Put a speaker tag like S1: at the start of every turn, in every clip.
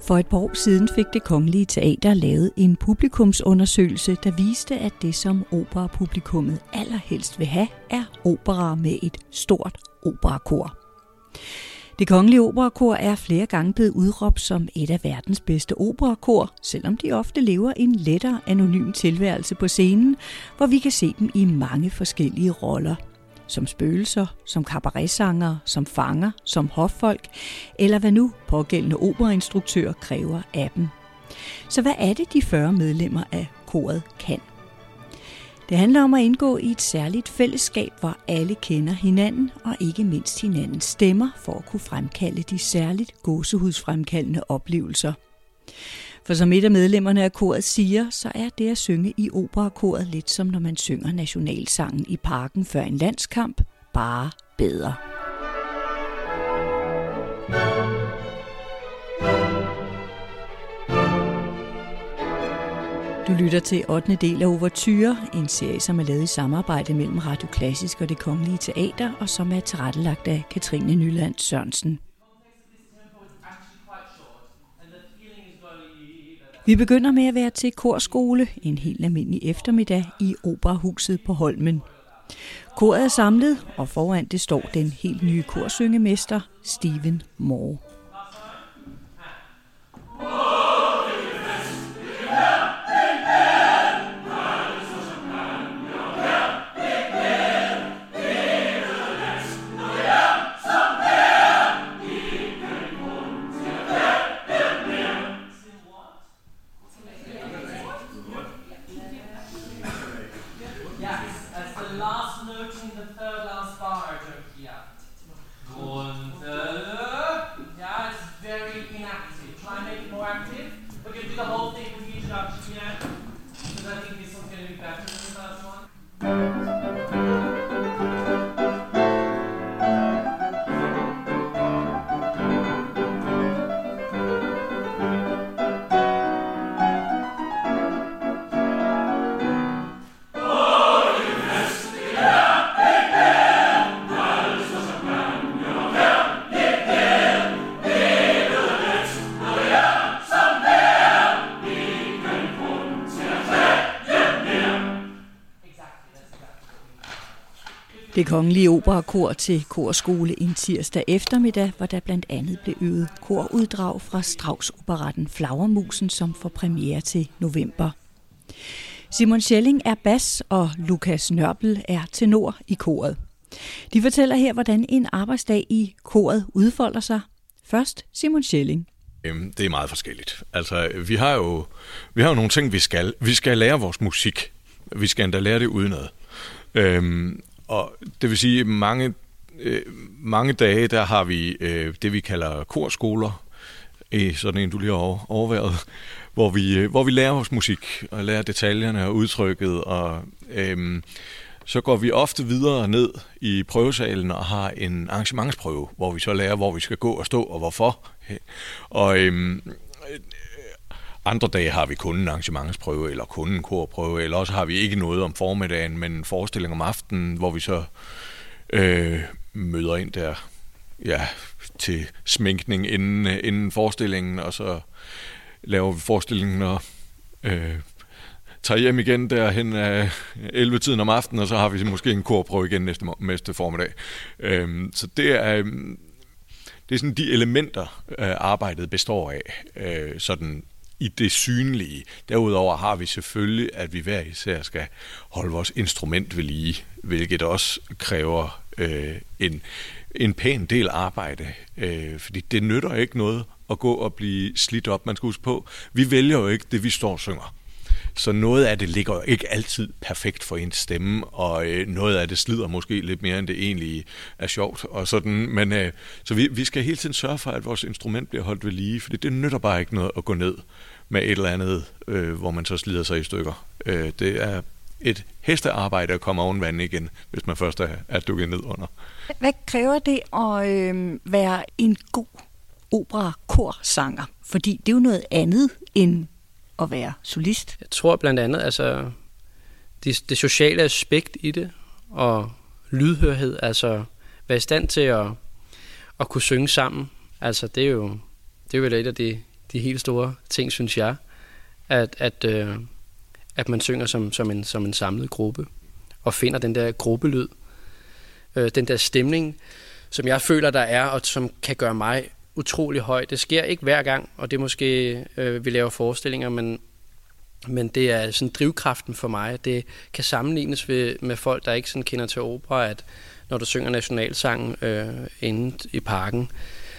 S1: For et par år siden fik Det Kongelige Teater lavet en publikumsundersøgelse, der viste, at det, som operapublikummet allerhelst vil have, er opera med et stort operakor. Det Kongelige Operakor er flere gange blevet udråbt som et af verdens bedste operakor, selvom de ofte lever en lettere anonym tilværelse på scenen, hvor vi kan se dem i mange forskellige roller. Som spøgelser, som cabaretsanger, som fanger, som hoffolk, eller hvad nu pågældende operainstruktør kræver af dem. Så hvad er det, de 40 medlemmer af koret kan? Det handler om at indgå i et særligt fællesskab, hvor alle kender hinanden og ikke mindst hinandens stemmer for at kunne fremkalde de særligt gåsehudsfremkaldende oplevelser. For som et af medlemmerne af koret siger, så er det at synge i operakoret lidt som når man synger nationalsangen i parken før en landskamp, bare bedre. Du lytter til 8. del af Ouverture, en serie, som er lavet i samarbejde mellem Radio Klassisk og Det Kongelige Teater, og som er tilrettelagt af Katrine Nyland Sørensen. Vi begynder med at være til korskole en helt almindelig eftermiddag i Operahuset på Holmen. Koret er samlet, og foran det står den helt nye korsyngemester, Stephen Moore. Det Kongelige Operakor til korskole en tirsdag eftermiddag, hvor der blandt andet blev øvet koruddrag fra Strauss-operetten Flagermusen, som får premiere til november. Simon Schelling er bas, og Lukas Nørpel er tenor i koret. De fortæller her, hvordan en arbejdsdag i koret udfolder sig. Først Simon Schelling.
S2: Det er meget forskelligt. Altså, vi har jo nogle ting, vi skal. Vi skal lære vores musik. Vi skal endda lære det udenad. Og det vil sige, mange dage, der har vi det, vi kalder korskoler, sådan en, du lige har overværet, hvor vi lærer vores musik, og lærer detaljerne og udtrykket, og så går vi ofte videre ned i prøvesalen og har en arrangementsprøve, hvor vi så lærer, hvor vi skal gå og stå, og hvorfor. Og andre dage har vi kun en arrangementsprøve, eller kun en korprøve, eller også har vi ikke noget om formiddagen, men en forestilling om aftenen, hvor vi så møder ind der til sminkning inden forestillingen, og så laver vi forestillingen og tager hjem igen derhen af 11-tiden om aftenen, og så har vi måske en korprøve igen næste formiddag. Så det er sådan de elementer, arbejdet består af, sådan i det synlige. Derudover har vi selvfølgelig, at vi hver især skal holde vores instrument ved lige, hvilket også kræver en pæn del arbejde, fordi det nytter ikke noget at gå og blive slidt op. Man skal huske på, vi vælger jo ikke det, vi står og synger. Så noget af det ligger jo ikke altid perfekt for ens stemme, og noget af det slider måske lidt mere, end det egentlig er sjovt. Og sådan. Men, så vi skal hele tiden sørge for, at vores instrument bliver holdt ved lige, fordi det nytter bare ikke noget at gå ned med et eller andet, hvor man så slider sig i stykker. Det er et hestearbejde at komme oven vand igen, hvis man først er dukket ned under.
S1: Hvad kræver det at være en god opera-korsanger? Fordi det er jo noget andet end at være solist.
S3: Jeg tror blandt andet, altså det sociale aspekt i det, og lydhørhed, altså være i stand til at kunne synge sammen. Altså det er jo et af de helt store ting, synes jeg, at man synger som en samlet gruppe, og finder den der gruppelyd, den der stemning, som jeg føler, der er, og som kan gøre mig utrolig høj. Det sker ikke hver gang, og det er måske, vi laver forestillinger, men det er sådan drivkraften for mig. Det kan sammenlignes med folk, der ikke sådan kender til opera, at når du synger nationalsangen inde i parken,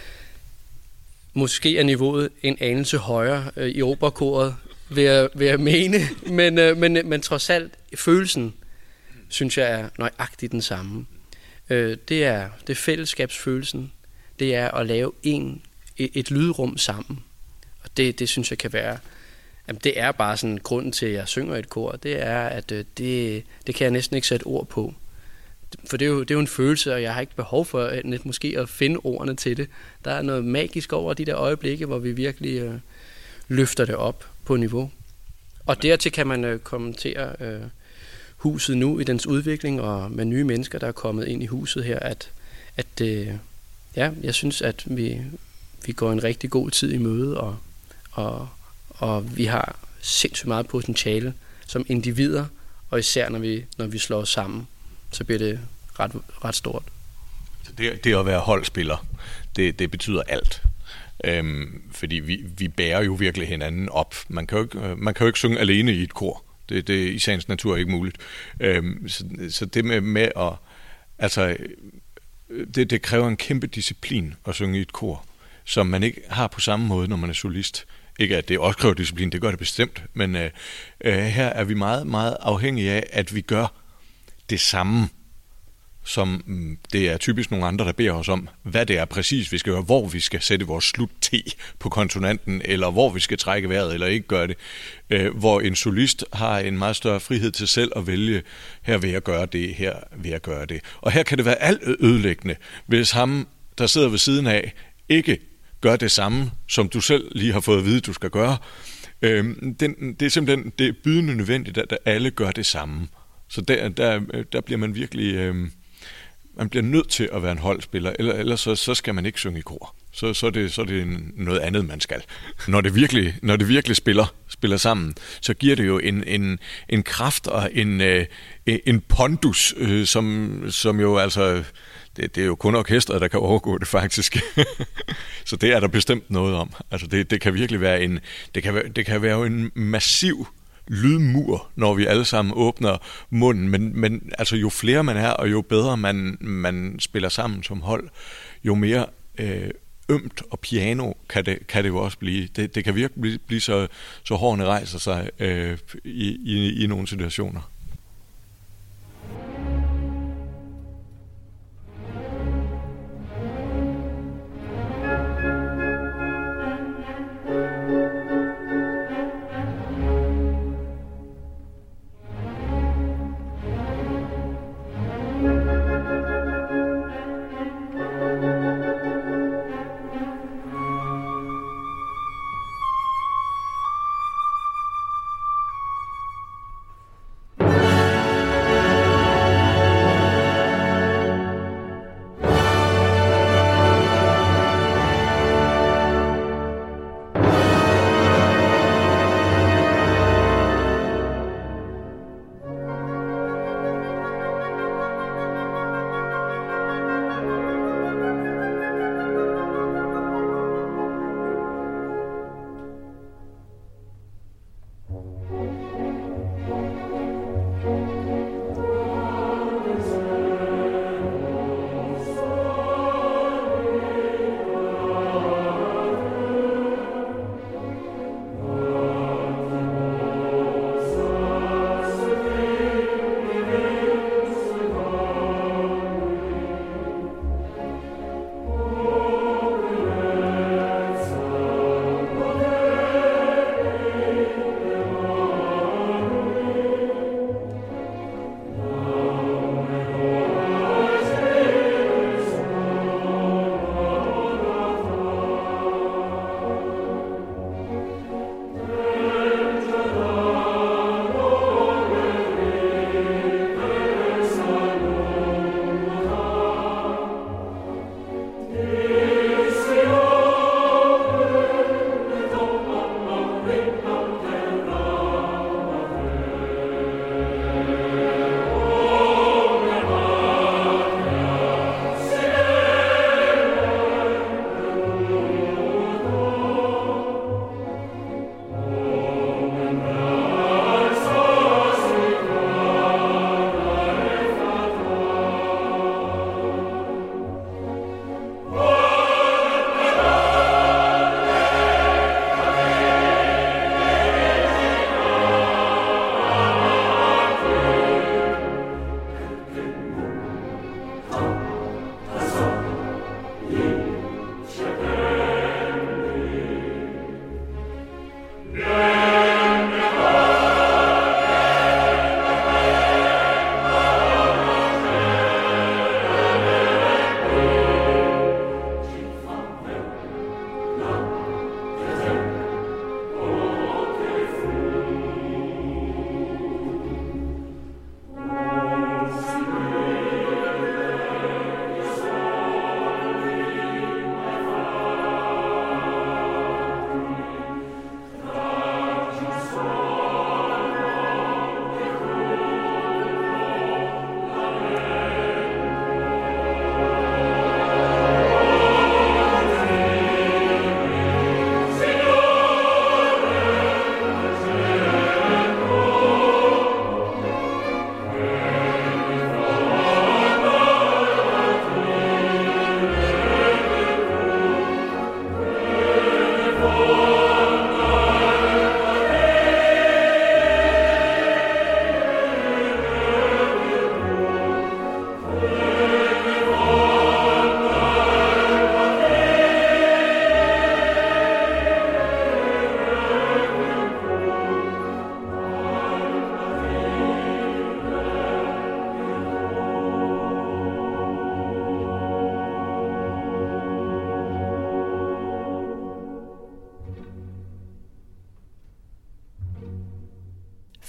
S3: måske er niveauet en anelse højere i operakoret, vil jeg mene, men trods alt, følelsen, synes jeg, er nøjagtigt den samme. Det er fællesskabsfølelsen, det er at lave et lydrum sammen, og det synes jeg kan være, jamen det er bare sådan grunden til, at jeg synger i et kor, det er, at det kan jeg næsten ikke sætte ord på. For det er jo en følelse, og jeg har ikke behov for måske at finde ordene til det. Der er noget magisk over de der øjeblikke, hvor vi virkelig løfter det op på niveau. Og dertil kan man kommentere huset nu i dens udvikling, og med nye mennesker, der er kommet ind i huset her, at jeg synes, at vi går en rigtig god tid i møde, og vi har sindssygt meget potentiale som individer, og især når vi slår os sammen, så bliver det ret stort.
S2: Det at være holdspiller, det betyder alt. Fordi vi bærer jo virkelig hinanden op. Man kan jo ikke synge alene i et kor. Det er i sagens natur ikke muligt. Så det med at... Altså, det kræver en kæmpe disciplin at synge i et kor, som man ikke har på samme måde, når man er solist. Ikke at det også kræver disciplin, det gør det bestemt, men her er vi meget, meget afhængige af, at vi gør det samme, som det er typisk nogle andre, der beder os om, hvad det er præcis, vi skal gøre, hvor vi skal sætte vores slut-T på konsonanten, eller hvor vi skal trække vejret, eller ikke gøre det. Hvor en solist har en meget større frihed til selv at vælge, her vil jeg gøre det, her vil jeg gøre det. Og her kan det være alt ødelæggende, hvis ham, der sidder ved siden af, ikke gør det samme, som du selv lige har fået at vide, du skal gøre. Det er simpelthen det er bydende nødvendigt, at alle gør det samme. Så der bliver man virkelig... man bliver nødt til at være en holdspiller, ellers så skal man ikke synge i kor. Så er det noget andet, man skal. Når det virkelig spiller sammen, så giver det jo en kraft og en pondus, som jo altså... Det er jo kun orkestret, der kan overgå det faktisk. Så det er der bestemt noget om. Altså det kan virkelig være det kan være en massiv lydmur, når vi alle sammen åbner munden, men altså jo flere man er, og jo bedre man spiller sammen som hold, jo mere ømt og piano kan det jo også blive. Det kan virkelig blive så hårene rejser sig i nogle situationer.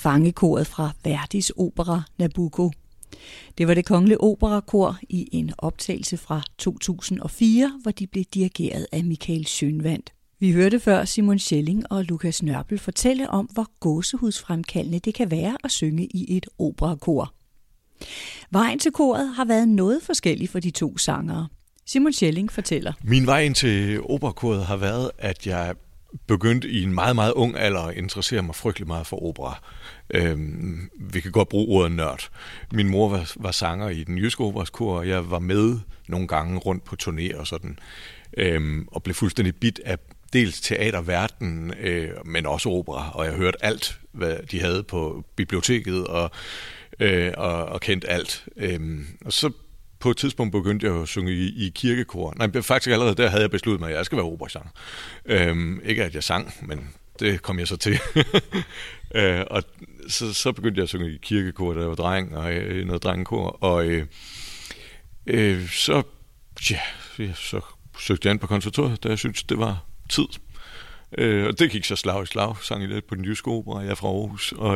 S1: Fangekoret fra Verdis opera Nabucco. Det var Det Kongelige Operakor i en optagelse fra 2004, hvor de blev dirigeret af Michael Schønwandt. Vi hørte før Simon Schelling og Lukas Nørpel fortælle om, hvor gåsehudsfremkaldende det kan være at synge i et operakor. Vejen til koret har været noget forskellig for de to sangere. Simon Schelling fortæller.
S2: Min vej ind til operakoret har været, at jeg begyndte i en meget, meget ung alder at interessere mig frygtelig meget for opera. Vi kan godt bruge ordet nørd. Min mor var sanger i den jyske operaskor, og jeg var med nogle gange rundt på turné og sådan, og blev fuldstændig bidt af dels teaterverdenen, men også opera, og jeg hørte alt, hvad de havde på biblioteket, og kendte alt. Og så på et tidspunkt begyndte jeg at synge i kirkekor. Nej, faktisk allerede der havde jeg besluttet mig, at jeg skal være operasanger. Ikke at jeg sang, men det kom jeg så til. Og så begyndte jeg at synge i kirkekor, da jeg var dreng, og noget drengekor. Og så søgte jeg ind på konservatoriet, da jeg syntes, det var tid. Og det gik så slag i slag, sang jeg lidt på den jyske opera, jeg er fra Aarhus. Og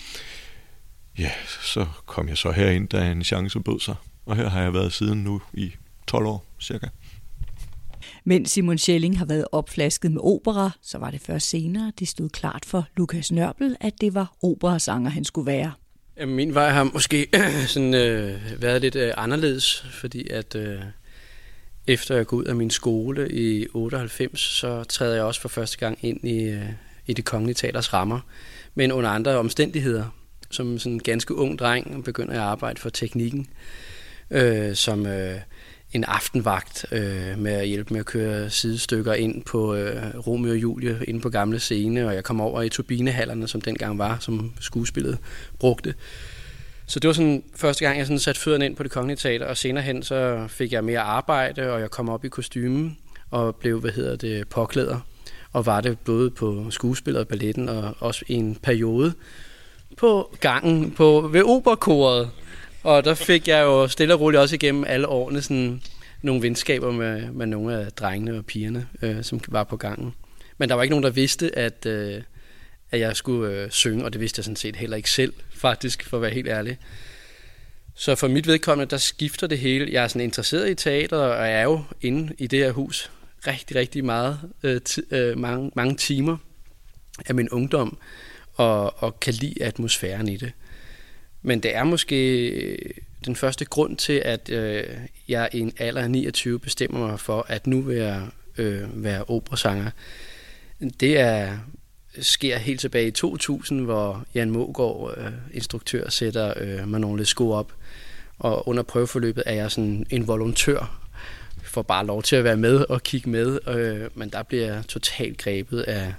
S2: så kom jeg så herind, da en chance bød sig. Og her har jeg været siden nu i 12 år, cirka.
S1: Mens Simon Schelling har været opflasket med opera, så var det først senere, det stod klart for Lukas Nørpel, at det var operasanger, han skulle være.
S3: Min vej har måske sådan, været lidt anderledes, fordi at efter jeg går ud af min skole i 98, så træder jeg også for første gang ind i Det Kongelige Teaters rammer, men under andre omstændigheder. Som sådan en ganske ung dreng begynder jeg at arbejde for teknikken, som en aftenvagt med at hjælpe med at køre sidestykker ind på Romeo og Julie inde på gamle scene, og jeg kom over i turbinehallerne, som dengang var, som skuespillet brugte. Så det var sådan første gang, jeg sådan satte fødderne ind på Det Kongelige Teater, og senere hen så fik jeg mere arbejde, og jeg kom op i kostymen og blev, påklæder, og var det både på skuespillet og balletten, og også i en periode på gangen ved operakoret. Og der fik jeg jo stille og roligt også igennem alle årene sådan nogle venskaber med nogle af drengene og pigerne, som var på gangen. Men der var ikke nogen, der vidste, at jeg skulle synge, og det vidste jeg sådan set heller ikke selv, faktisk, for at være helt ærlig. Så for mit vedkommende, der skifter det hele. Jeg er sådan interesseret i teater, og jeg er jo inde i det her hus rigtig, rigtig meget, mange timer af min ungdom, og kan lide atmosfæren i det. Men det er måske den første grund til, at jeg i en alder af 29 bestemmer mig for, at nu vil jeg være operasanger. Det sker helt tilbage i 2000, hvor Jan Mågaard, instruktør, sætter Manon Lescaut op. Og under prøveforløbet er jeg sådan en volontør, får bare lov til at være med og kigge med. Men der bliver jeg totalt grebet af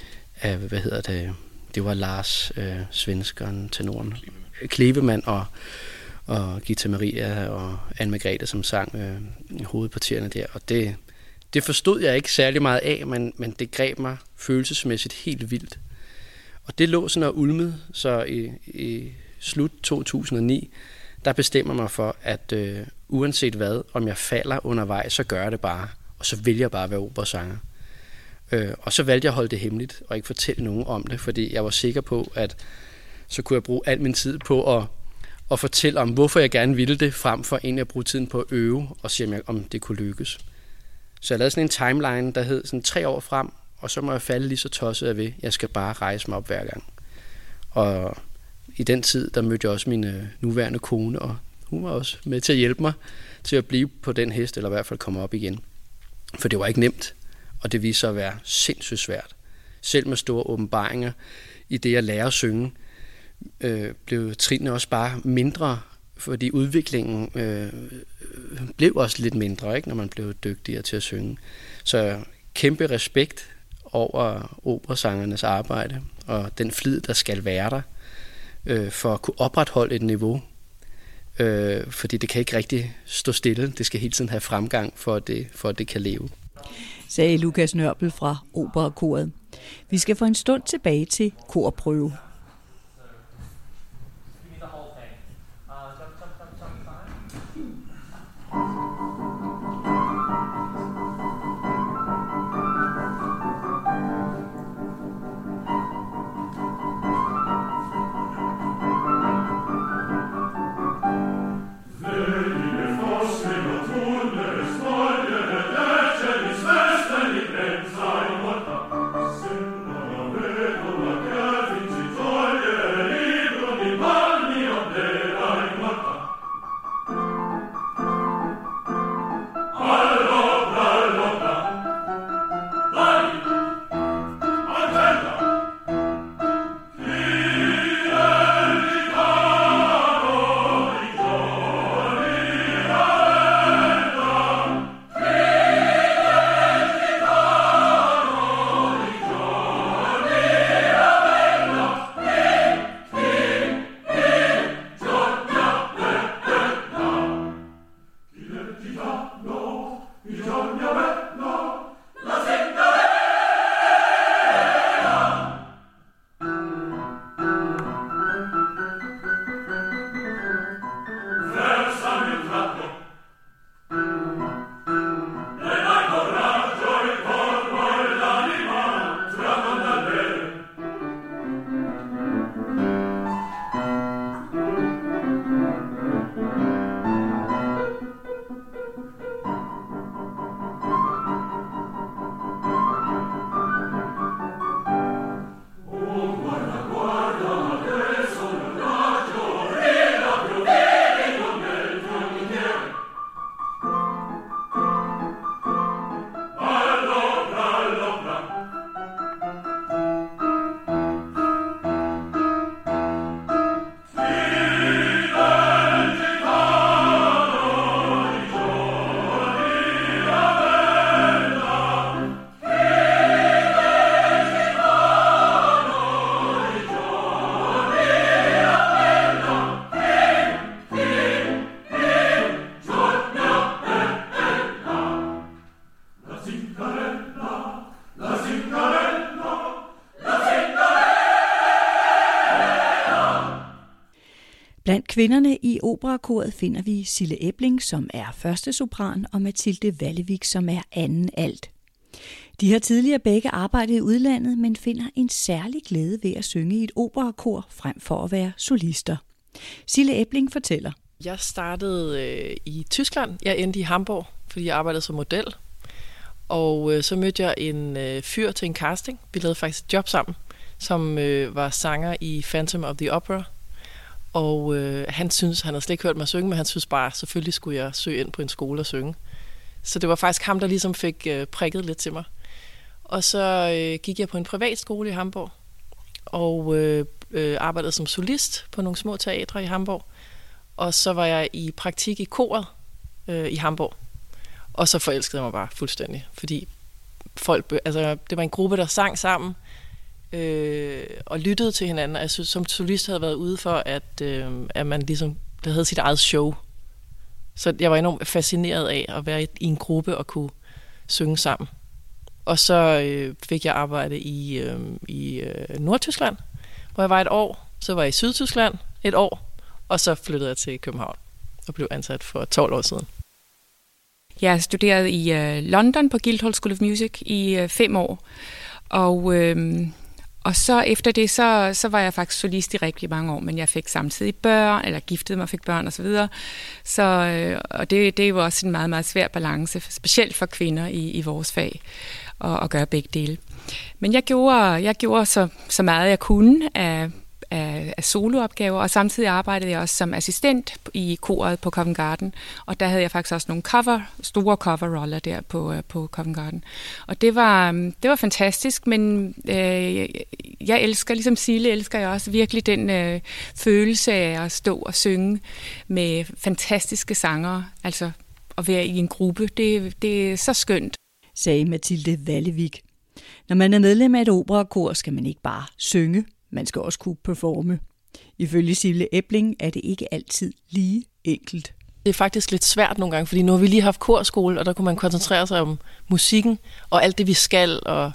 S3: det var Lars, svenskeren, tenoren, Klevemann og Gita Maria og Anne Margrethe, som sang hovedpartierne der. Og det forstod jeg ikke særlig meget af, men det greb mig følelsesmæssigt helt vildt. Og det lå sådan og ulmede, så i slut 2009, der bestemmer mig for, at uanset hvad, om jeg falder undervejs, så gør jeg det bare. Og så vil jeg bare være operasanger. Og så valgte jeg at holde det hemmeligt og ikke fortælle nogen om det, fordi jeg var sikker på, at så kunne jeg bruge al min tid på at fortælle om, hvorfor jeg gerne ville det, frem for egentlig at bruge tiden på at øve og se, om det kunne lykkes. Så jeg lavede sådan en timeline, der hed sådan 3 år frem, og så må jeg falde lige så tosset af ved. Jeg skal bare rejse mig op hver gang. Og i den tid, der mødte jeg også min nuværende kone, og hun var også med til at hjælpe mig til at blive på den hest, eller i hvert fald komme op igen. For det var ikke nemt, og det viste sig at være sindssygt svært. Selv med store åbenbaringer i det at lære at synge, blev trinene også bare mindre, fordi udviklingen blev også lidt mindre, ikke, når man blev dygtigere til at synge. Så kæmpe respekt over operasangernes arbejde, og den flid, der skal være der, for at kunne opretholde et niveau. Fordi det kan ikke rigtig stå stille. Det skal hele tiden have fremgang, for at det kan leve.
S1: Sagde Lukas Nørpel fra Operakoret. Vi skal for en stund tilbage til korprøve. kvinderne i operakoret finder vi Sille Ebling, som er første sopran, og Mathilde Wallevik, som er anden alt. De har tidligere begge arbejdet i udlandet, men finder en særlig glæde ved at synge i et operakor, frem for at være solister. Sille Ebling fortæller.
S4: Jeg startede i Tyskland. Jeg endte i Hamburg, fordi jeg arbejdede som model. Og så mødte jeg en fyr til en casting. Vi lavede faktisk et job sammen, som var sanger i Phantom of the Opera. Og han havde slet ikke hørt mig synge, men han synes bare, selvfølgelig skulle jeg søge ind på en skole og synge. Så det var faktisk ham, der ligesom fik prikket lidt til mig. Og så gik jeg på en privatskole i Hamburg, og arbejdede som solist på nogle små teatre i Hamburg. Og så var jeg i praktik i koret i Hamburg. Og så forelskede jeg mig bare fuldstændig, fordi det var en gruppe, der sang sammen og lyttede til hinanden. Og jeg synes, som solist havde været ude for, at man ligesom der havde sit eget show. Så jeg var enormt fascineret af at være i en gruppe og kunne synge sammen. Og så fik jeg arbejde i Nordtyskland, hvor jeg var et år. Så var jeg i Sydtyskland et år, og så flyttede jeg til København og blev ansat for 12 år siden.
S5: Jeg studerede i London på Guildhall School of Music i 5 år, og så efter det, så var jeg faktisk solist i rigtig mange år, men jeg fik samtidig børn, eller giftede mig og fik børn osv. Og det er jo også en meget, meget svær balance, specielt for kvinder i vores fag, at gøre begge dele. Men jeg gjorde så meget jeg kunne af soloopgaver, og samtidig arbejdede jeg også som assistent i koret på Covent Garden, og der havde jeg faktisk også nogle store coverroller der på Covent Garden. Og det var fantastisk, men jeg elsker, ligesom Sille, elsker jeg også virkelig den følelse af at stå og synge med fantastiske sangere, altså at være i en gruppe, det er så skønt.
S1: Sagde Mathilde Wallevik. Når man er medlem af et operakor, skal man ikke bare synge, man skal også kunne performe. Ifølge Sille Ebling er det ikke altid lige enkelt.
S4: Det er faktisk lidt svært nogle gange, fordi nu har vi lige haft korskole, og der kunne man koncentrere sig om musikken og alt det, vi skal. Og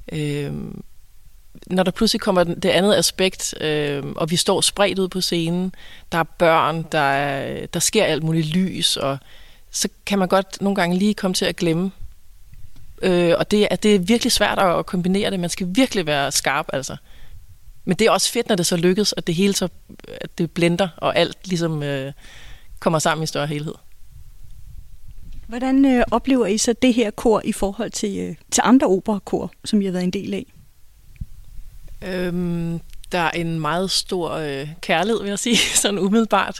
S4: når der pludselig kommer det andet aspekt, og vi står spredt ud på scenen, der er børn, der sker alt muligt lys, og så kan man godt nogle gange lige komme til at glemme. Og det er virkelig svært at kombinere det. Man skal virkelig være skarp, altså. Men det er også fedt, når det så lykkes, at det hele så at det blender, og alt ligesom kommer sammen i større helhed.
S1: Hvordan oplever I så det her kor i forhold til andre operakor, som I har været en del af?
S4: Der er en meget stor kærlighed, vil jeg sige, sådan umiddelbart.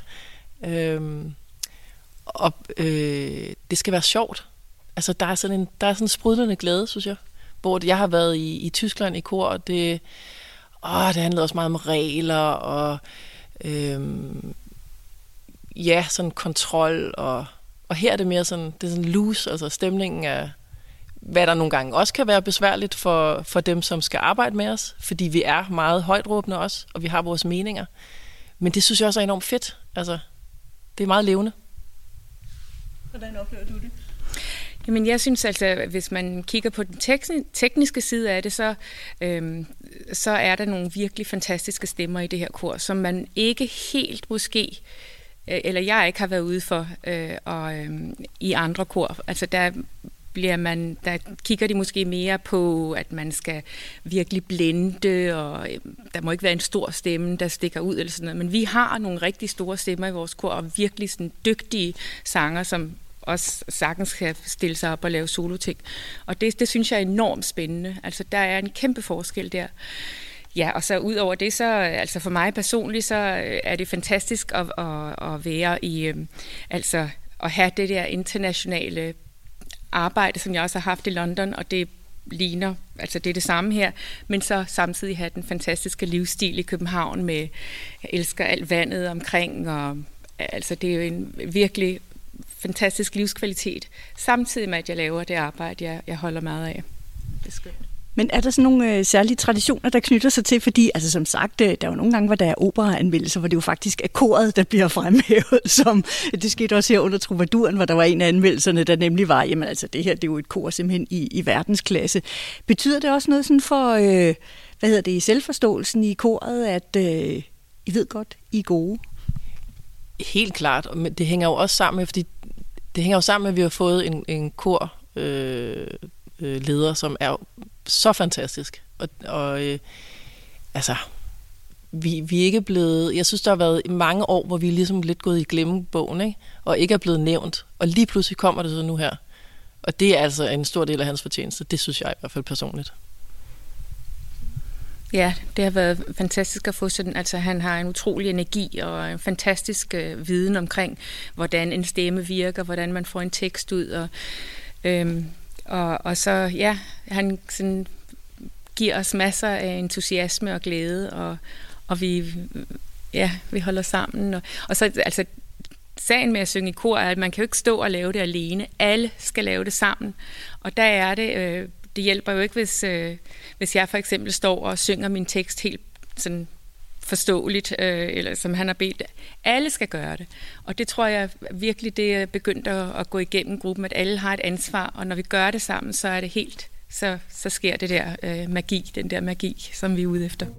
S4: Det skal være sjovt. Altså, der er sådan en sprudlende glæde, synes jeg. Hvor jeg har været i Tyskland i kor, og det handlede også meget om regler, og sådan kontrol, og her er det mere sådan, det er sådan loose, altså stemningen af, hvad der nogle gange også kan være besværligt for dem, som skal arbejde med os, fordi vi er meget højtråbende også, og vi har vores meninger. Men det synes jeg også er enormt fedt. Altså, det er meget levende.
S1: Hvordan oplever du det?
S5: Jamen, jeg synes altså, hvis man kigger på den tekniske side af det, så er der nogle virkelig fantastiske stemmer i det her kor, som man ikke helt måske, eller jeg ikke har været ude for i andre kor. Altså, der kigger de måske mere på, at man skal virkelig blende, og der må ikke være en stor stemme, der stikker ud eller sådan noget. Men vi har nogle rigtig store stemmer i vores kor, og virkelig sådan dygtige sanger, som også sagtens kan stille sig op og lave soloting. Og det synes jeg er enormt spændende. Altså, der er en kæmpe forskel der. Ja, og så ud over det, så altså for mig personligt, så er det fantastisk at være i, altså at have det der internationale arbejde, som jeg også har haft i London, og det ligner, altså det er det samme her, men så samtidig have den fantastiske livsstil i København med, jeg elsker alt vandet omkring, og altså det er jo en virkelig fantastisk livskvalitet, samtidig med, at jeg laver det arbejde, jeg holder meget af. Det er skønt.
S1: Men er der sådan nogle særlige traditioner, der knytter sig til? Fordi, altså som sagt, der er jo nogle gange, hvor der er operaanmeldelser, hvor det jo faktisk er koret, der bliver fremhævet, som det skete også her under Troubadouren, hvor der var en af anmeldelserne, der nemlig var, jamen altså det her, det er jo et kor simpelthen i verdensklasse. Betyder det også noget sådan for, i selvforståelsen i koret, at I ved godt, I er gode?
S4: Helt klart, men det hænger jo også sammen med, fordi det hænger jo sammen med, at vi har fået en kor leder, som er så fantastisk. Og altså, vi er ikke blevet... Jeg synes, der har været mange år, hvor vi er ligesom lidt gået i glemmebogen, ikke? Og ikke er blevet nævnt. Og lige pludselig kommer det så nu her. Og det er altså en stor del af hans fortjeneste. Det synes jeg i hvert fald personligt.
S5: Ja, det har været fantastisk at få sådan, altså han har en utrolig energi og en fantastisk viden omkring, hvordan en stemme virker, hvordan man får en tekst ud, og så, ja, han sådan giver os masser af entusiasme og glæde, og vi holder sammen, og så, altså, sagen med at synge i kor er, at man kan jo ikke stå og lave det alene, alle skal lave det sammen, og der er det... Det hjælper jo ikke, hvis jeg for eksempel står og synger min tekst helt sådan forståeligt, eller som han har bedt. Alle skal gøre det. Og det tror jeg virkelig, det er begyndt at gå igennem gruppen, at alle har et ansvar, og når vi gør det sammen, så er det helt, så sker det der magi, den der magi, som vi er ude efter.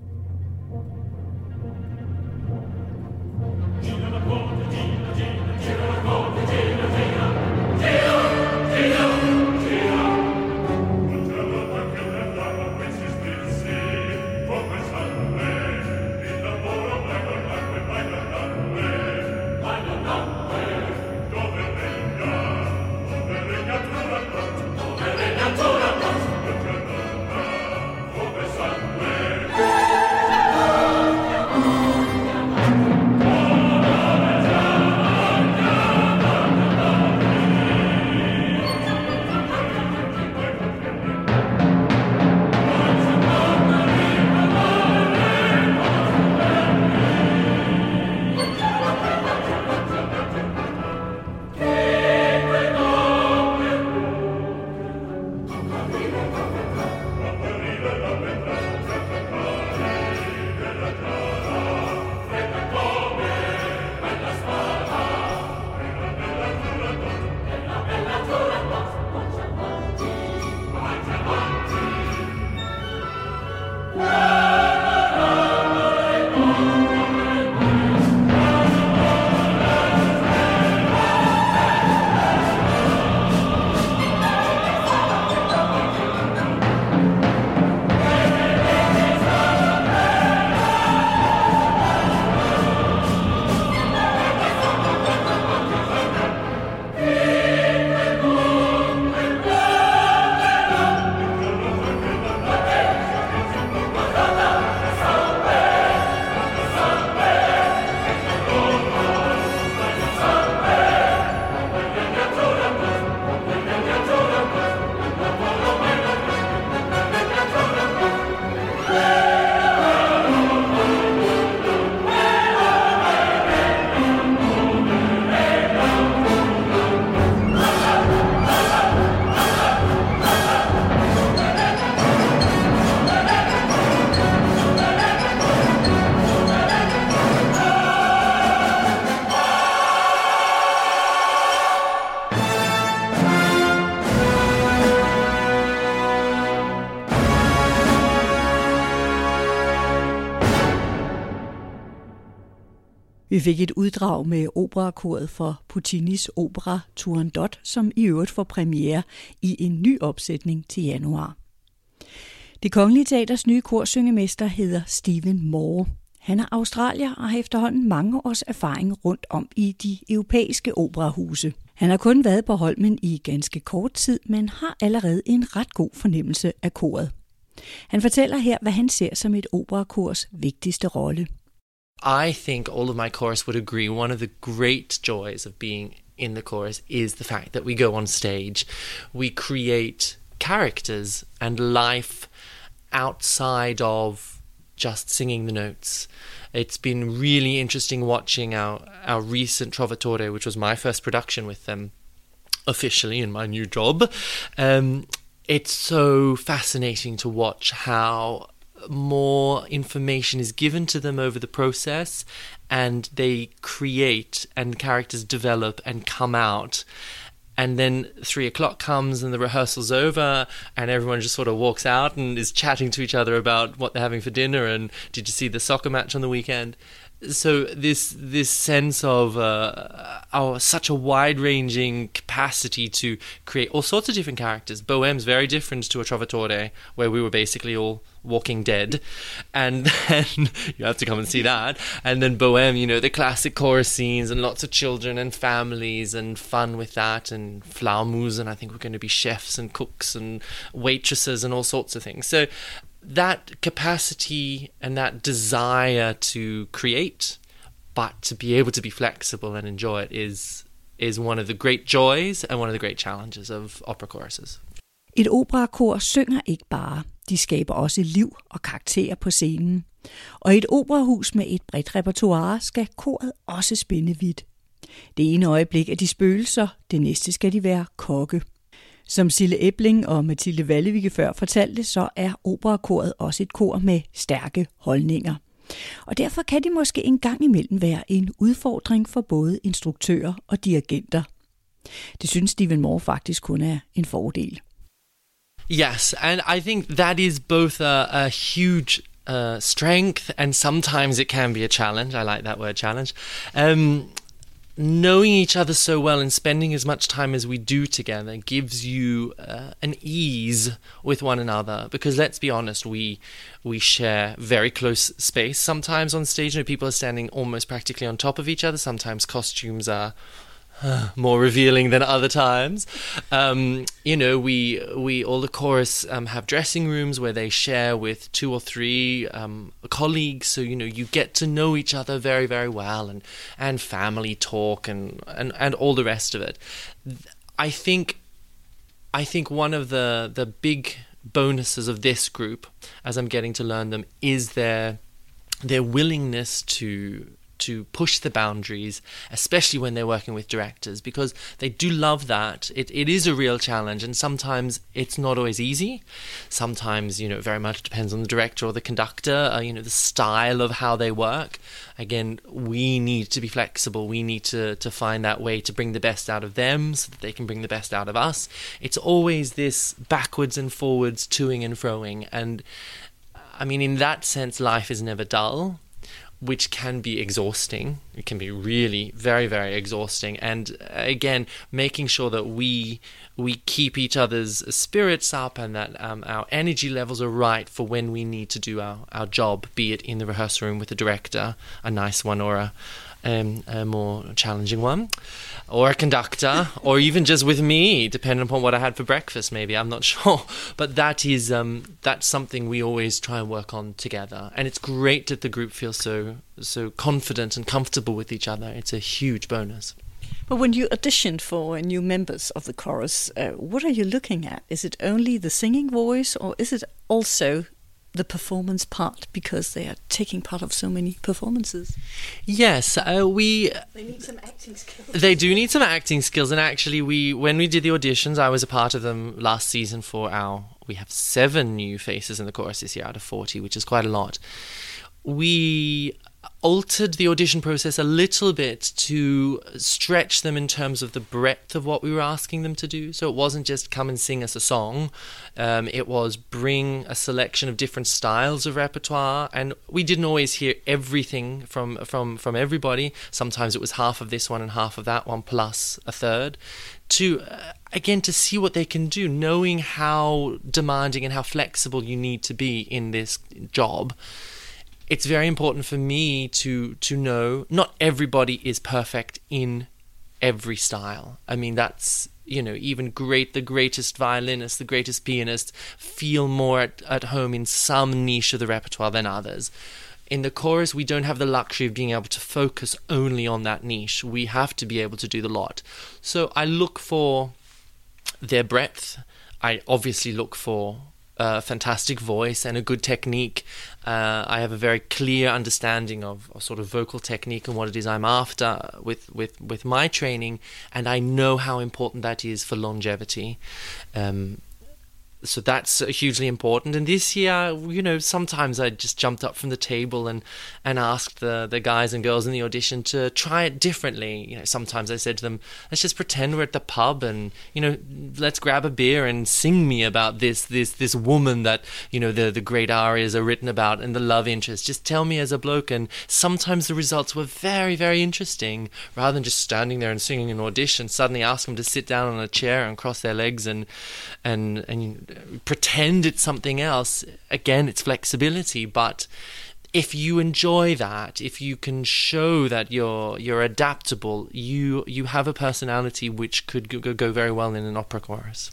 S1: Vi fik et uddrag med operakoret for Puccinis opera Turandot, som i øvrigt får premiere i en ny opsætning til januar. Det Kongelige Teaters nye korsyngemester hedder Stephen Moore. Han er australier og har efterhånden mange års erfaring rundt om i de europæiske operahuse. Han har kun været på Holmen i ganske kort tid, men har allerede en ret god fornemmelse af koret. Han fortæller her, hvad han ser som et operakors vigtigste rolle.
S6: I think all of my chorus would agree one of the great joys of being in the chorus is the fact that we go on stage. We create characters and life outside of just singing the notes. It's been really interesting watching our recent Trovatore, which was my first production with them officially in my new job. It's so fascinating to watch how more information is given to them over the process, and they create and characters develop and come out. And then 3:00 comes and the rehearsal's over and everyone just sort of walks out and is chatting to each other about what they're having for dinner and did you see the soccer match on the weekend? this sense of our such a wide-ranging capacity to create all sorts of different characters. Bohème's very different to a Trovatore, where we were basically all walking dead, and then you have to come and see that. And then Bohème, you know, the classic chorus scenes and lots of children and families and fun with that, and Flaumus, and I think we're going to be chefs and cooks and waitresses and all sorts of things. So that capacity and that desire to create, but to be able to be flexible and enjoy it is one of the great joys and one of the great challenges of opera choruses.
S1: Et operakor synger ikke bare, de skaber også liv og karakterer på scenen. Og i et operahus med et bredt repertoire skal koret også spænde vidt. Det ene øjeblik er de spøgelser, det næste skal de være kokke. Som Sille Ebling og Mathilde Wallevik før fortalte, så er operakoret også et kor med stærke holdninger. Og derfor kan de måske en gang imellem være en udfordring for både instruktører og dirigenter. Det synes Stephen Moore faktisk kun er en fordel.
S6: Yes, and I think that is both a huge strength, and sometimes it can be a challenge. I like that word, challenge. Knowing each other so well and spending as much time as we do together gives you an ease with one another, because let's be honest, we share very close space sometimes on stage. You know, people are standing almost practically on top of each other. Sometimes costumes are more revealing than other times. You know, we all the chorus have dressing rooms where they share with 2 or 3 colleagues, so you know you get to know each other very, very well, and family talk and all the rest of it. I think one of the big bonuses of this group, as I'm getting to learn them, is their willingness to push the boundaries, especially when they're working with directors, because they do love that. It is a real challenge, and sometimes it's not always easy. Sometimes, you know, it very much depends on the director or the conductor, you know, the style of how they work. Again, we need to be flexible. We need to find that way to bring the best out of them so that they can bring the best out of us. It's always this backwards and forwards, toing and froing. And I mean, in that sense, life is never dull, which can be exhausting. It can be really very, very exhausting. And again, making sure that we keep each other's spirits up, and that our energy levels are right for when we need to do our job, be it in the rehearsal room with the director, a nice one, or a more challenging one, or a conductor, or even just with me, depending upon what I had for breakfast, maybe, I'm not sure. But that is that's something we always try and work on together. And it's great that the group feels so confident and comfortable with each other. It's a huge bonus.
S1: But when you audition for new members of the chorus, what are you looking at? Is it only the singing voice, or is it also the performance part, because they are taking part of so many performances?
S6: Yes,
S1: they need some acting skills.
S6: They do need some acting skills, and actually when we did the auditions, I was a part of them last season we have 7 new faces in the chorus this year out of 40, which is quite a lot. We altered the audition process a little bit to stretch them in terms of the breadth of what we were asking them to do. So it wasn't just come and sing us a song. It was bring a selection of different styles of repertoire, and we didn't always hear everything from everybody. Sometimes it was half of this one and half of that one plus a third, to again to see what they can do, knowing how demanding and how flexible you need to be in this job. It's very important for me to know not everybody is perfect in every style. I mean, that's, you know, even the greatest violinists, the greatest pianists feel more at home in some niche of the repertoire than others. In the chorus, we don't have the luxury of being able to focus only on that niche. We have to be able to do the lot. So I look for their breadth. I obviously look for a fantastic voice and a good technique. I have a very clear understanding of sort of vocal technique and what it is I'm after with my training, and I know how important that is for longevity. So that's hugely important. And this year, you know, sometimes I just jumped up from the table and asked the guys and girls in the audition to try it differently. You know, sometimes I said to them, let's just pretend we're at the pub and, you know, let's grab a beer and sing me about this woman that, you know, the great arias are written about and the love interest. Just tell me as a bloke. And sometimes the results were very, very interesting. Rather than just standing there and singing an audition, suddenly ask them to sit down on a chair and cross their legs and pretend it's something else. Again, it's flexibility, but if you enjoy that, if you can show that you're adaptable, you have a personality which could go very well in an opera chorus.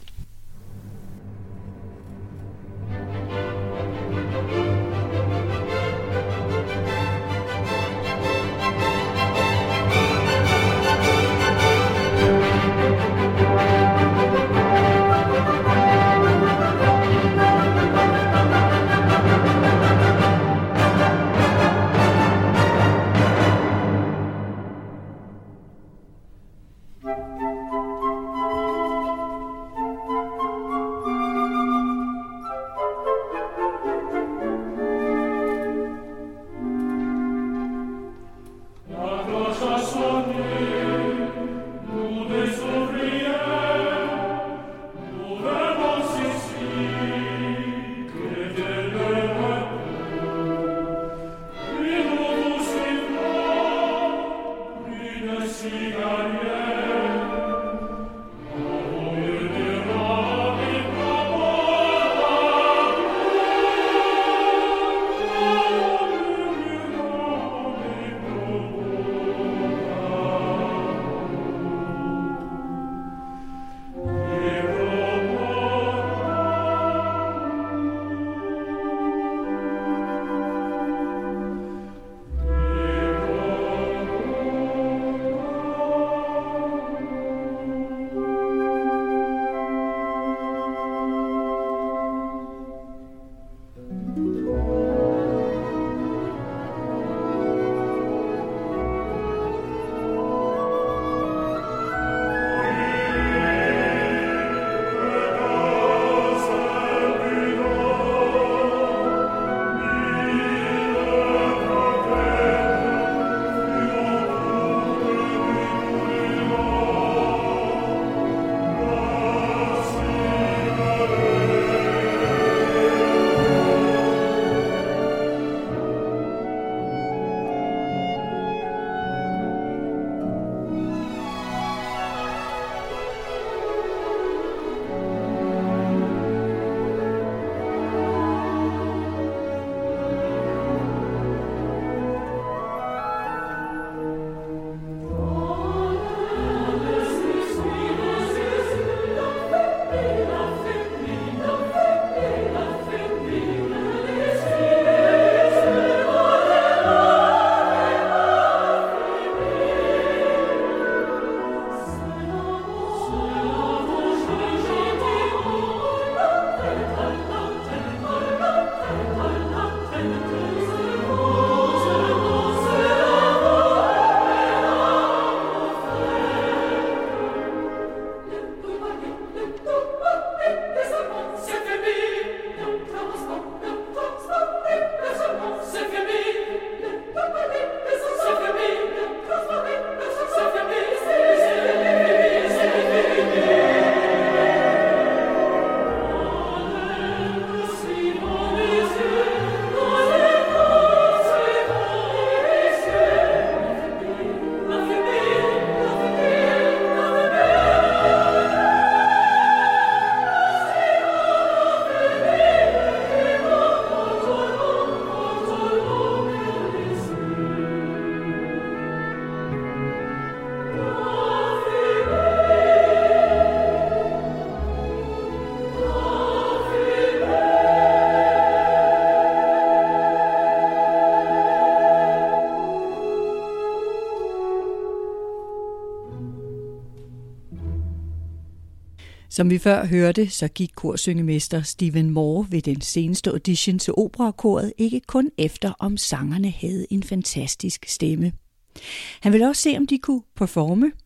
S1: Som vi før hørte, så gik korsyngemester Stephen Moore ved den seneste audition til operakoret ikke kun efter, om sangerne havde en fantastisk stemme. Han ville også se, om de kunne performe,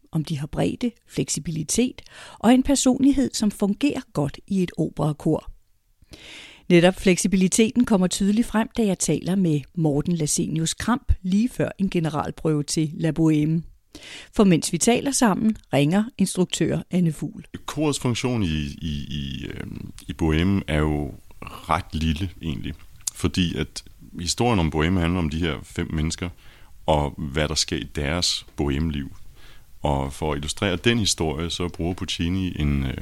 S1: om de har bredde, fleksibilitet og en personlighed, som fungerer godt i et operakor. Netop fleksibiliteten kommer tydeligt frem, da jeg taler med Morten Lassenius Kramp lige før en generalprøve til La Bohème. For mens vi taler sammen, ringer instruktør Anne Fugl.
S7: Korets funktion i Bohème er jo ret lille egentlig, fordi at historien om Bohème handler om de her 5 mennesker, og hvad der sker i deres Bohème-liv. Og for at illustrere den historie, så bruger Puccini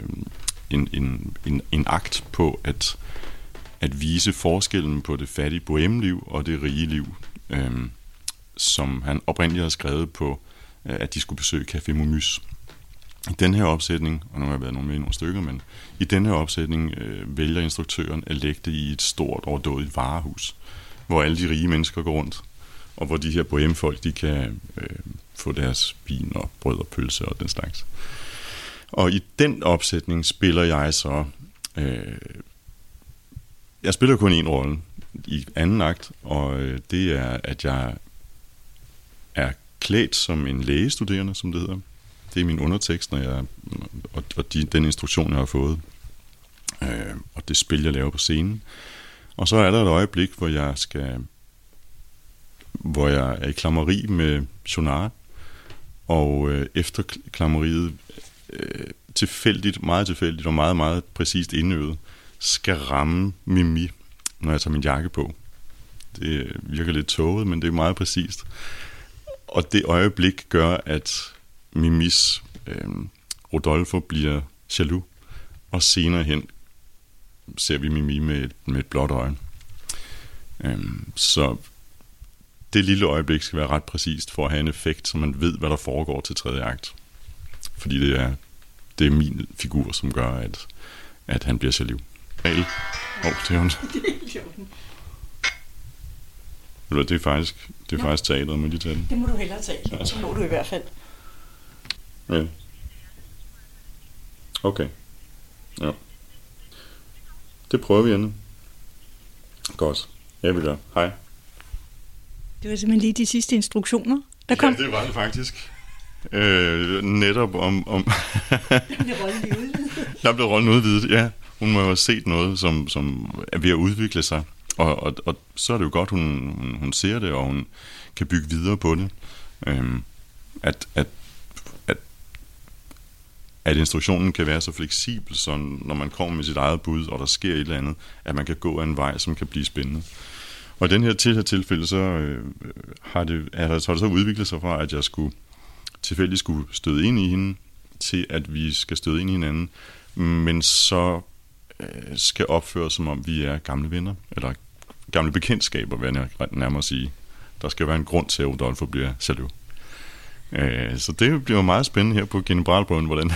S7: en akt på at vise forskellen på det fattige Bohème-liv og det rige liv, som han oprindeligt har skrevet på, at de skulle besøge Café Momus. I den her opsætning, og nu har jeg været nogle stykker, men i den her opsætning vælger instruktøren at lægge det i et stort overdådigt varehus, hvor alle de rige mennesker går rundt, og hvor de her bohème-folk, de kan få deres vin og brød og pølse og den slags. Og i den opsætning spiller jeg så... jeg spiller kun en rolle i anden akt, og det er, at jeg er klædt som en lægestuderende, som det hedder. Det er min undertekst, den instruktion, jeg har fået, og det spil, jeg laver på scenen. Og så er der et øjeblik, hvor jeg er i klammeri med Schaunard, og efter klammeriet meget tilfældigt og meget, meget præcist indøvet, skal ramme Mimi, når jeg tager min jakke på. Det virker lidt tåget, men det er meget præcist. Og det øjeblik gør, at Mimis Rodolfo bliver jaloux, og senere hen ser vi Mimi med et blåt øje. Så det lille øjeblik skal være ret præcist for at have en effekt, så man ved, hvad der foregår til tredje akt. Fordi det er min figur, som gør, at han bliver jaloux. Det er ondt. Det er faktisk teateret, må de tage den.
S1: Det må du hellere tage. Ja. Så må du i hvert fald.
S7: Ja. Okay. Ja. Det prøver vi, Anne. Godt. Jeg vil gøre. Hej.
S1: Det var simpelthen lige de sidste instruktioner, der kom.
S7: Ja, det var det faktisk. Netop om... Der blev rollen udvidet, ja. Hun må jo have set noget, som er ved at udvikle sig. Og så er det jo godt, hun ser det, og hun kan bygge videre på det. At instruktionen kan være så fleksibel, så når man kommer med sit eget bud, og der sker et eller andet, at man kan gå af en vej, som kan blive spændende. Og i den her tilfælde, så har det så udviklet sig fra, at jeg tilfældigt skulle støde ind i hende, til at vi skal støde ind i hinanden, men så skal opføre, som om vi er gamle venner, eller gamle bekendtskaber, vil jeg nærmere sige. Der skal være en grund til, at Rodolfo bliver jaloux. Så det bliver meget spændende her på generalprøven, hvordan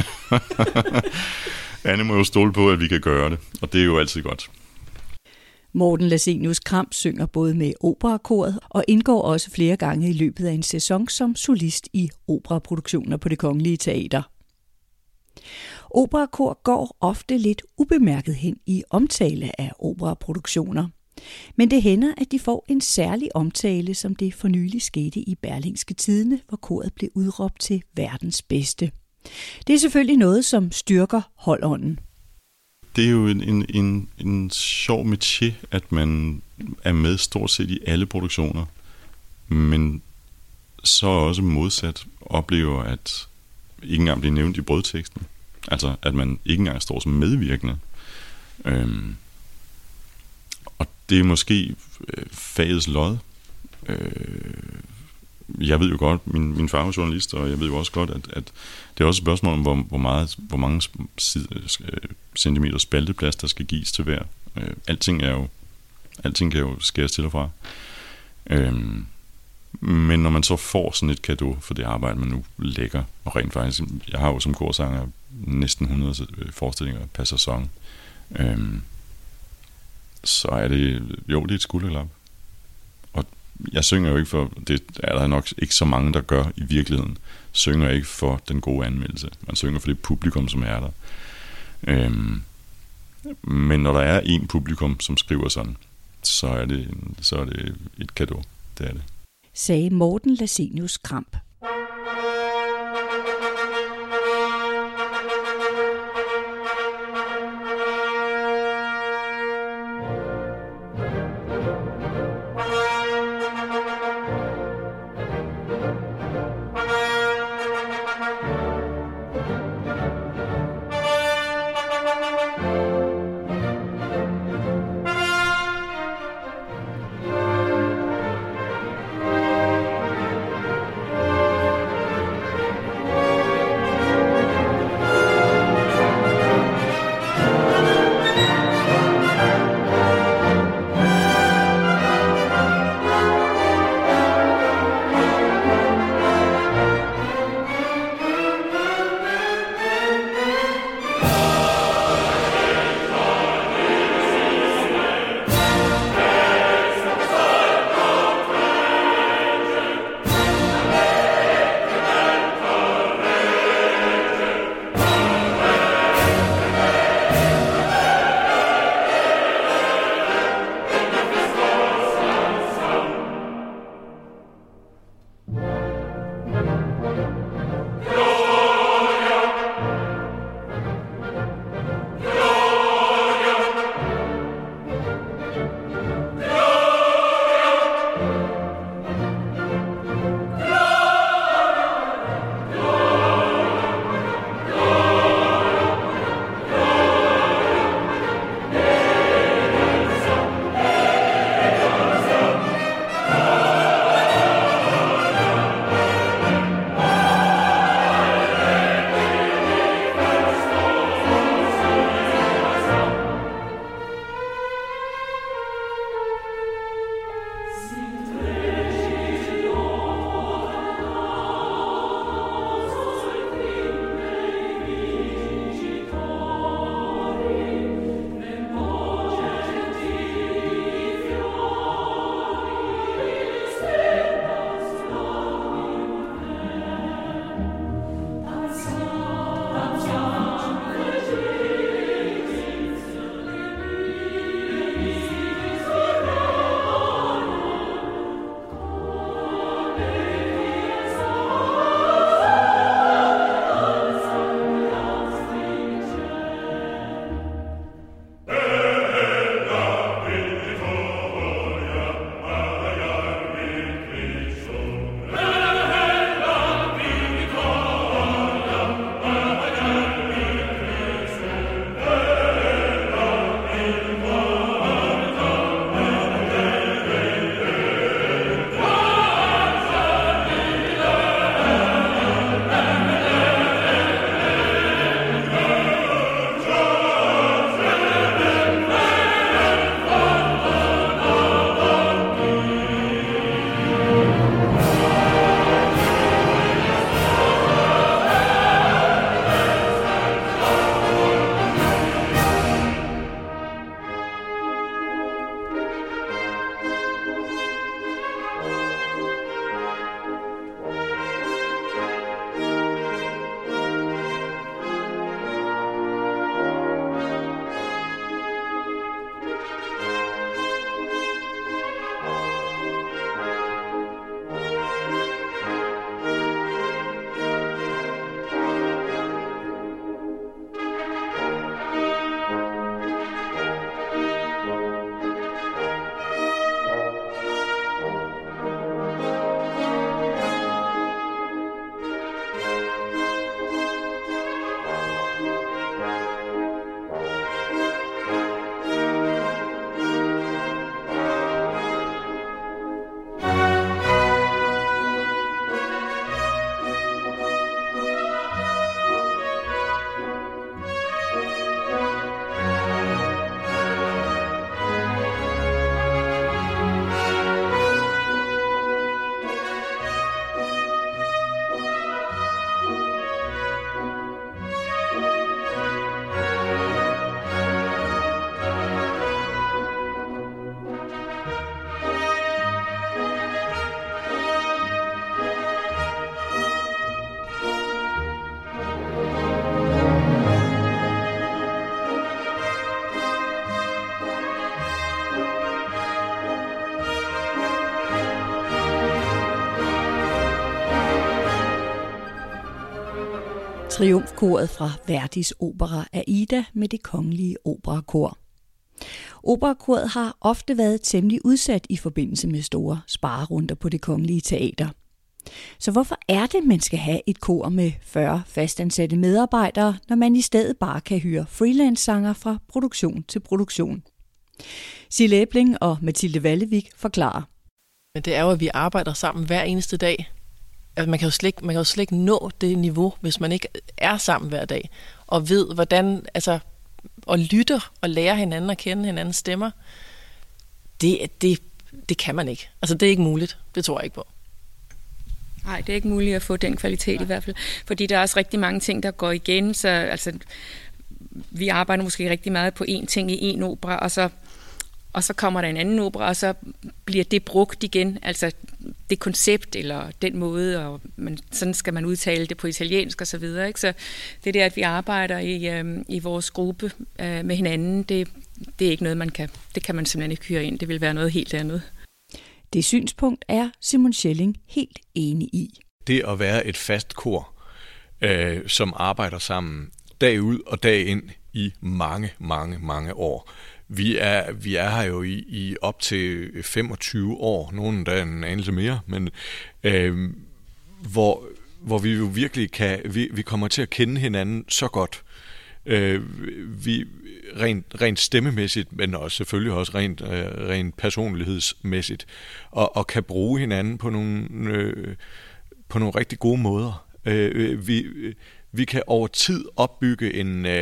S7: Anne må jo stole på, at vi kan gøre det, og det er jo altid godt.
S1: Morten Lassenius Kramp synger både med operakoret og indgår også flere gange i løbet af en sæson som solist i operaproduktioner på Det Kongelige Teater. Operakor går ofte lidt ubemærket hen i omtale af operaproduktioner. Men det hænder, at de får en særlig omtale, som det for nylig skete i Berlingske Tidende, hvor koret blev udråbt til verdens bedste. Det er selvfølgelig noget, som styrker holdånden.
S7: Det er jo en sjov métier, at man er med stort set i alle produktioner, men så også modsat oplever, at ikke engang bliver nævnt i brødteksten. Altså, at man ikke engang står som medvirkende. Og det er måske fagets lod. Jeg ved jo godt, min far er journalist, og jeg ved jo også godt, at det er også et spørgsmål om, hvor mange centimeter spalteplads, der skal gives til hver. Alting kan jo skæres til og fra. Men når man så får sådan et cadeau for det arbejde, man nu lægger, og rent faktisk, jeg har jo som korsanger næsten 100 forestillinger per sæson, så er det et skulderklap. Og jeg synger jo ikke for, det er der nok ikke så mange, der gør i virkeligheden, synger ikke for den gode anmeldelse. Man synger for det publikum, som er der. Men når der er en publikum, som skriver sådan, så er det et cadeau. Det er det.
S1: Sagde Morten Lassenius Kramp. Triumfkoret fra Verdis opera Aida med Det Kongelige Operakor. Operakoret har ofte været temmelig udsat i forbindelse med store sparerunder på Det Kongelige Teater. Så hvorfor er det, man skal have et kor med 40 fastansatte medarbejdere, når man i stedet bare kan hyre freelance-sanger fra produktion til produktion? Sille Æbling og Mathilde Vallevik forklarer.
S4: Men det er jo, at vi arbejder sammen hver eneste dag. Altså, man kan jo slet ikke nå det niveau, hvis man ikke er sammen hver dag, og ved, hvordan, altså, og lytter og lærer hinanden at kende hinandens stemmer. Det kan man ikke. Altså, det er ikke muligt. Det tror jeg ikke på.
S5: Nej, det er ikke muligt at få den kvalitet i hvert fald, fordi der er også rigtig mange ting, der går igen, så altså, vi arbejder måske rigtig meget på én ting i en opera, og så kommer der en anden opera, og så bliver det brugt igen, altså det koncept eller den måde, og sådan skal man udtale det på italiensk og så videre, ikke? Så det der, at vi arbejder i vores gruppe med hinanden, det er ikke noget, det kan man simpelthen ikke hyre ind, det vil være noget helt andet.
S1: Det synspunkt er Simon Schelling helt enig i.
S2: Det at være et fast kor, som arbejder sammen dag ud og dag ind i mange, mange, mange år. Vi er her jo i op til 25 år, nogen der en anelse mere, men hvor vi jo virkelig vi kommer til at kende hinanden så godt. Vi rent stemmemæssigt, men også selvfølgelig også rent personlighedsmæssigt, og kan bruge hinanden på nogle rigtig gode måder. Vi kan over tid opbygge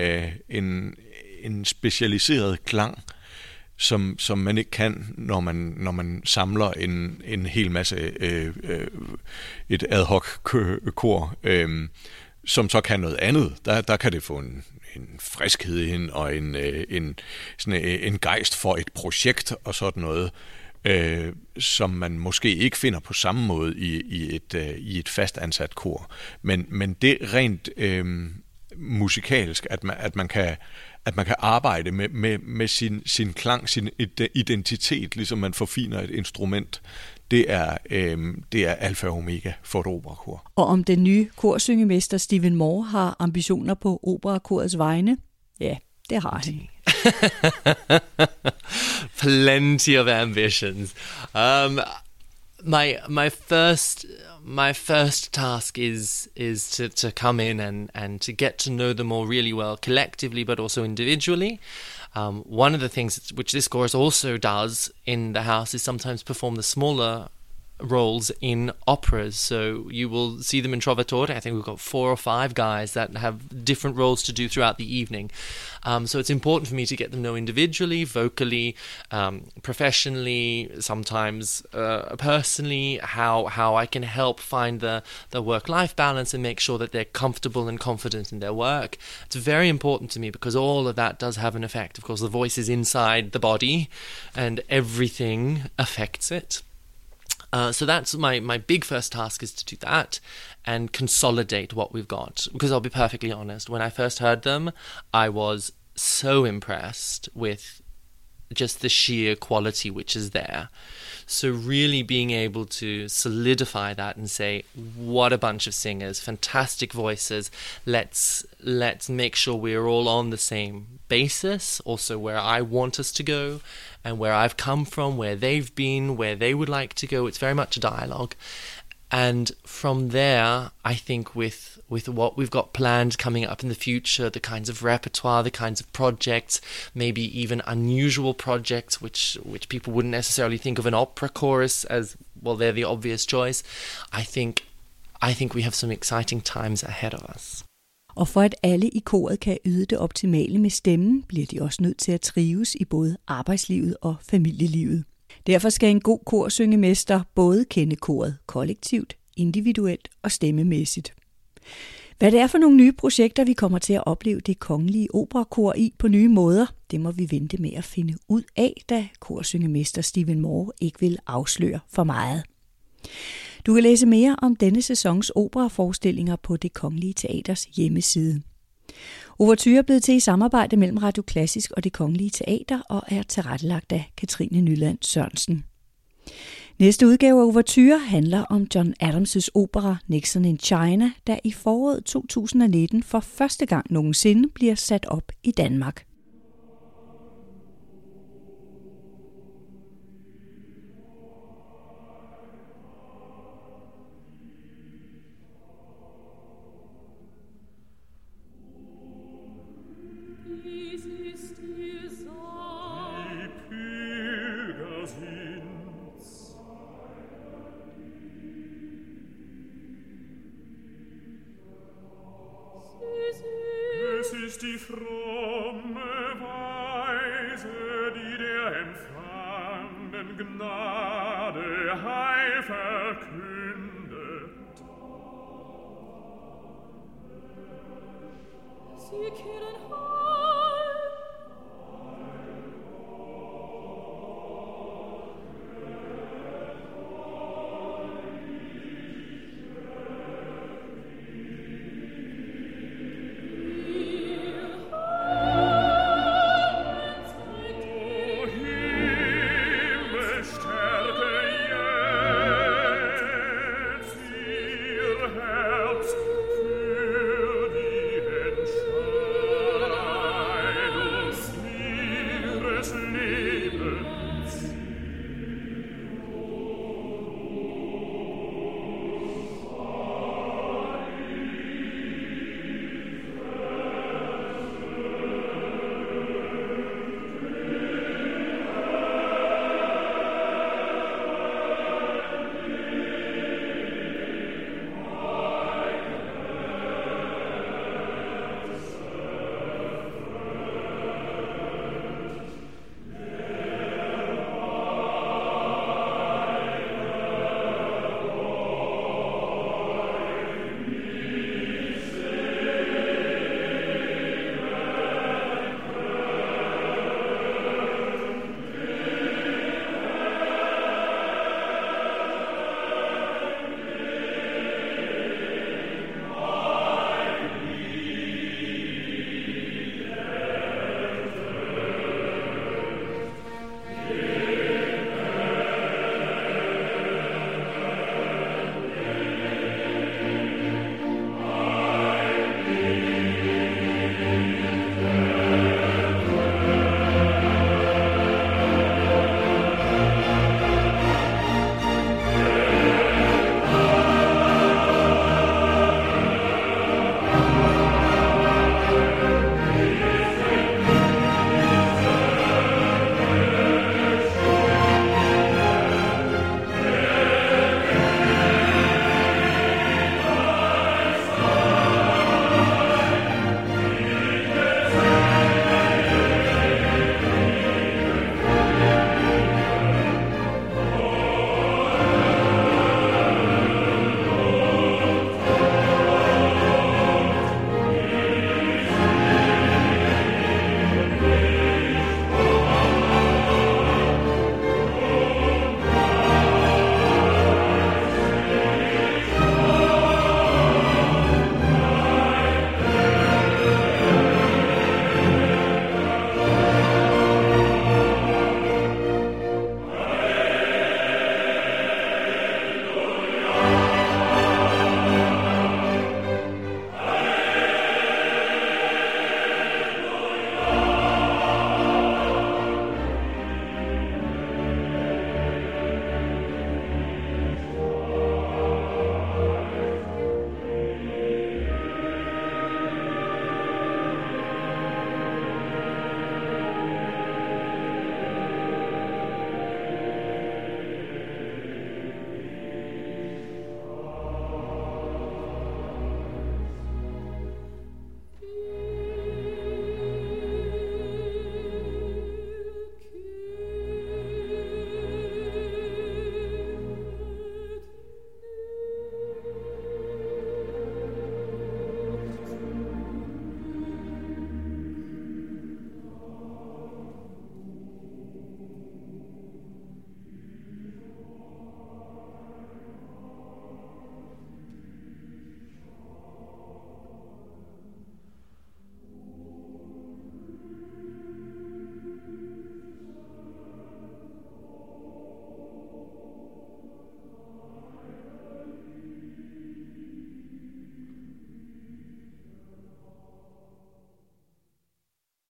S2: en specialiseret klang, som man ikke kan, når man samler en hel masse et ad hoc kor, som så kan noget andet. Der kan det få en friskhed ind og en gejst for et projekt og sådan noget, som man måske ikke finder på samme måde i et fast ansat kor. Men det rent musikalsk, at man kan arbejde med sin klang, sin identitet, ligesom man forfiner et instrument, det er alfa og omega for et operakor.
S1: Og om den nye korsyngemester Stephen Moore har ambitioner på operakorets vegne? Ja, det har han.
S6: Plenty of ambitions. My first task is to come in and to get to know them all really well collectively, but also individually. One of the things which this chorus also does in the house is sometimes perform the smaller roles in operas. So you will see them in Trovatore. I think we've got 4 or 5 guys that have different roles to do throughout the evening. So it's important for me to get them know individually, vocally, professionally, sometimes personally, how I can help find the work-life balance and make sure that they're comfortable and confident in their work. It's very important to me because all of that does have an effect. Of course, the voice is inside the body and everything affects it. So that's my big first task, is to do that and consolidate what we've got. Because I'll be perfectly honest, when I first heard them, I was so impressed with just the sheer quality which is there. So really being able to solidify that and say, what a bunch of singers, fantastic voices. Let's make sure we're all on the same basis, also where I want us to go and where I've come from, where they've been, where they would like to go. It's very much a dialogue. And from there, I think with what we've got planned coming up in the future, the kinds of repertoire, the kinds of projects, maybe even unusual projects, which people wouldn't necessarily think of an opera chorus as, well, they're the obvious choice. I think we have some exciting times ahead of us.
S1: Og for at alle i koret kan yde det optimale med stemmen, bliver de også nødt til at trives i både arbejdslivet og familielivet. Derfor skal en god korsyngemester både kende koret kollektivt, individuelt og stemmemæssigt. Hvad det er for nogle nye projekter, vi kommer til at opleve Det Kongelige Operakor i på nye måder, det må vi vente med at finde ud af, da korsyngemester Stephen Moore ikke vil afsløre for meget. Du kan læse mere om denne sæsons operaforestillinger på Det Kongelige Teaters hjemmeside. Ouverture er blevet til i samarbejde mellem Radio Klassisk og Det Kongelige Teater og er tilrettelagt af Katrine Nyland Sørensen. Næste udgave af Ouverture handler om John Adams' opera Nixon in China, der i foråret 2019 for første gang nogensinde bliver sat op i Danmark.
S8: Die fromme Weise, die der empfangenen Gnade Heil verkündet. Sie kehren